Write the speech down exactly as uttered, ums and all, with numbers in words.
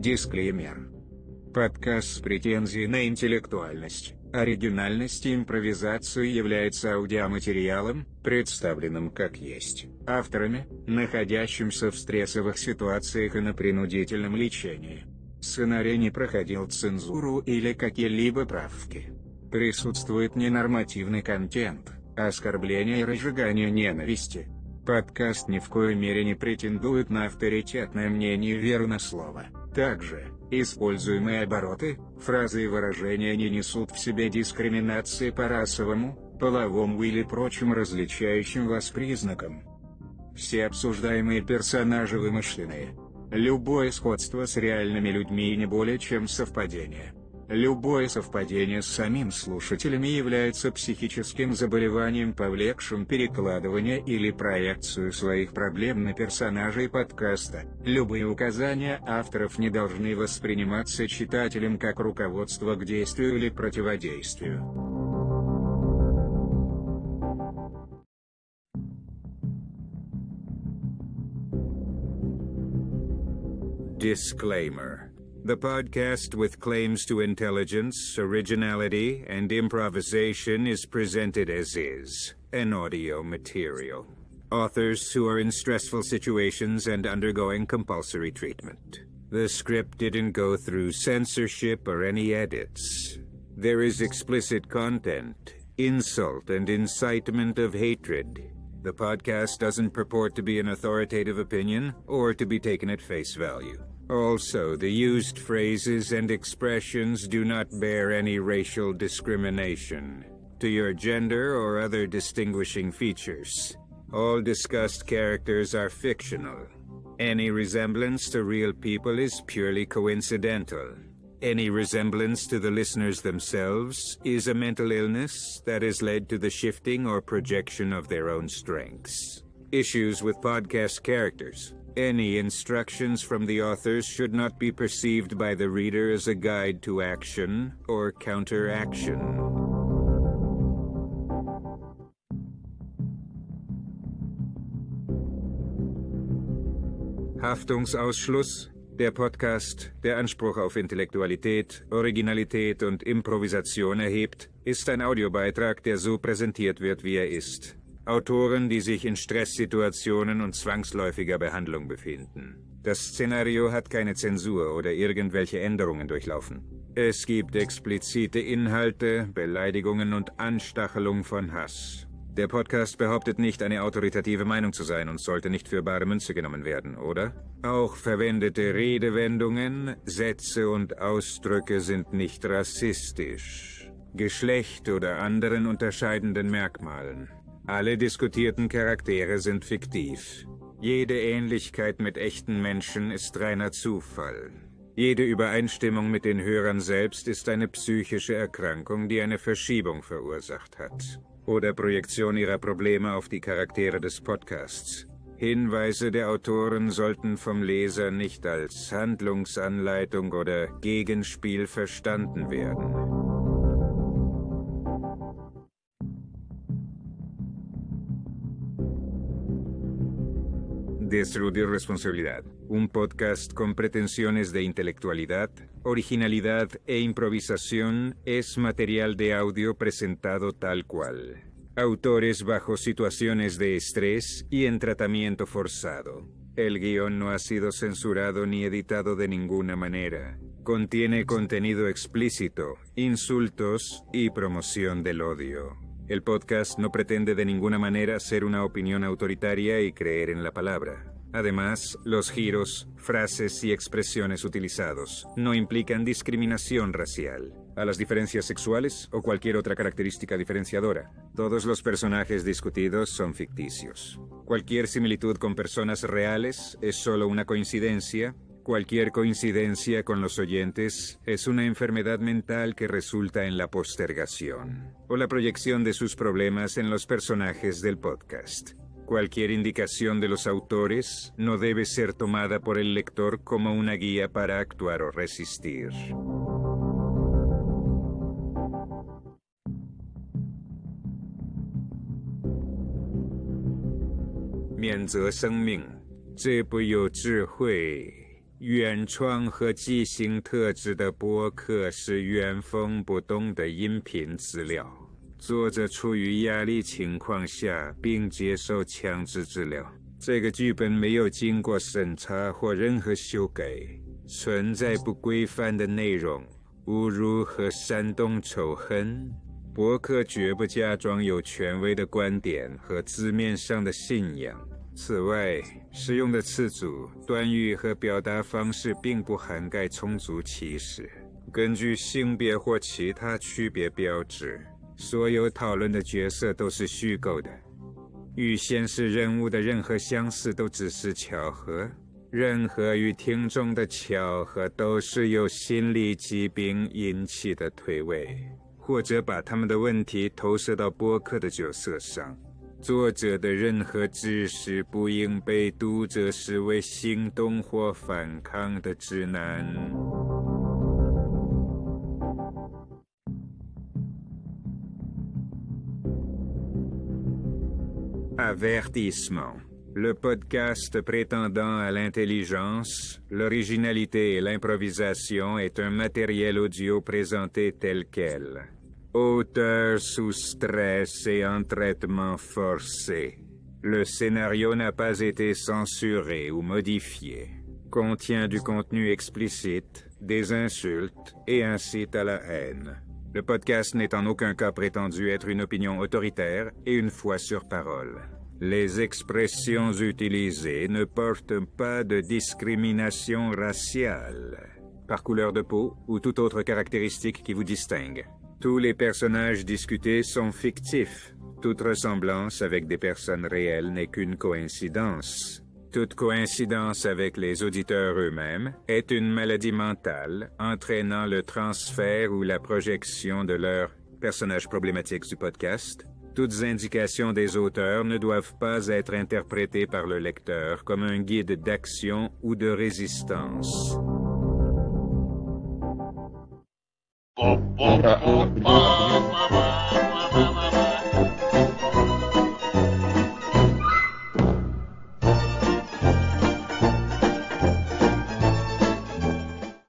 Дисклеймер. Подкаст с претензией на интеллектуальность, оригинальность и импровизацию является аудиоматериалом, представленным как есть, авторами, находящимся в стрессовых ситуациях и на принудительном лечении. Сценарий не проходил цензуру или какие-либо правки. Присутствует ненормативный контент, оскорбление и разжигание ненависти. Подкаст ни в коей мере не претендует на авторитетное мнение и веру на слово. Также, используемые обороты, фразы и выражения не несут в себе дискриминации по расовому, половому или прочим различающим вас признакам. Все обсуждаемые персонажи вымышленные. Любое сходство с реальными людьми не более чем совпадение. Любое совпадение с самим слушателями является психическим заболеванием, повлекшим перекладывание или проекцию своих проблем на персонажей подкаста. Любые указания авторов не должны восприниматься читателем как руководство к действию или противодействию. Disclaimer. The podcast with claims to intelligence, originality, and improvisation is presented as is, an audio material. Authors who are in stressful situations and undergoing compulsory treatment. The script didn't go through censorship or any edits. There is explicit content, insult, and incitement of hatred. The podcast doesn't purport to be an authoritative opinion or to be taken at face value. Also, the used phrases and expressions do not bear any racial discrimination to your gender or other distinguishing features. All discussed characters are fictional. Any resemblance to real people is purely coincidental. Any resemblance to the listeners themselves is a mental illness that has led to the shifting or projection of their own strengths. Issues with podcast characters. Any instructions from the authors should not be perceived by the reader as a guide to action or counteraction. Haftungsausschluss. Der Podcast, der Anspruch auf Intellektualität, Originalität und Improvisation erhebt, ist ein Audiobeitrag, der so präsentiert wird, wie er ist. Autoren, die sich in Stresssituationen und zwangsläufiger Behandlung befinden. Das Szenario hat keine Zensur oder irgendwelche Änderungen durchlaufen. Es gibt explizite Inhalte, Beleidigungen und Anstachelung von Hass. Der Podcast behauptet nicht, eine autoritative Meinung zu sein und sollte nicht für bare Münze genommen werden, oder? Auch verwendete Redewendungen, Sätze und Ausdrücke sind nicht rassistisch, Geschlecht oder anderen unterscheidenden Merkmalen. Alle diskutierten Charaktere sind fiktiv. Jede Ähnlichkeit mit echten Menschen ist reiner Zufall. Jede Übereinstimmung mit den Hörern selbst ist eine psychische Erkrankung, die eine Verschiebung verursacht hat. Oder Projektion ihrer Probleme auf die Charaktere des Podcasts. Hinweise der Autoren sollten vom Leser nicht als Handlungsanleitung oder Gegenspiel verstanden werden. Destruir responsabilidad. Un podcast con pretensiones de intelectualidad, originalidad e improvisación es material de audio presentado tal cual. Autores bajo situaciones de estrés y en tratamiento forzado. El guión no ha sido censurado ni editado de ninguna manera. Contiene contenido explícito, insultos y promoción del odio. El podcast no pretende de ninguna manera ser una opinión autoritaria y creer en la palabra. Además, los giros, frases y expresiones utilizados no implican discriminación racial, a las diferencias sexuales o cualquier otra característica diferenciadora. Todos los personajes discutidos son ficticios. Cualquier similitud con personas reales es solo una coincidencia. Cualquier coincidencia con los oyentes es una enfermedad mental que resulta en la postergación o la proyección de sus problemas en los personajes del podcast. Cualquier indicación de los autores no debe ser tomada por el lector como una guía para actuar o resistir. Mianze 生命，这不有智慧原创和即兴特质的播客是原封不动的音频资料，作者处于压力情况下并接受强制治疗。这个剧本没有经过审查或任何修改，存在不规范的内容、侮辱和煽动仇恨。播客绝不假装有权威的观点和字面上的信仰。此外，使用的词组、短语和表达方式并不涵盖种族歧视。根据性别或其他区别标志，所有讨论的角色都是虚构的。与现实人物的任何相似都只是巧合。任何与听众的巧合都是由心理疾病引起的推诿，或者把他们的问题投射到播客的角色上。作者的任何知识不应被读者视为行动或反抗的指南。Avertissement. Le podcast prétendant à l'intelligence, l'originalité et l'improvisation est un matériel audio présenté tel quel. Auteur sous stress et en traitement forcé. Le scénario n'a pas été censuré ou modifié. Contient du contenu explicite, des insultes et incite à la haine. Le podcast n'est en aucun cas prétendu être une opinion autoritaire et une foi sur parole. Les expressions utilisées ne portent pas de discrimination raciale, par couleur de peau ou toute autre caractéristique qui vous distingue. Tous les personnages discutés sont fictifs. Toute ressemblance avec des personnes réelles n'est qu'une coïncidence. Toute coïncidence avec les auditeurs eux-mêmes est une maladie mentale entraînant le transfert ou la projection de leurs personnages problématiques du podcast. Toutes indications des auteurs ne doivent pas être interprétées par le lecteur comme un guide d'action ou de résistance. Ba, ba, ba, ba, ba, ba, ba, ba.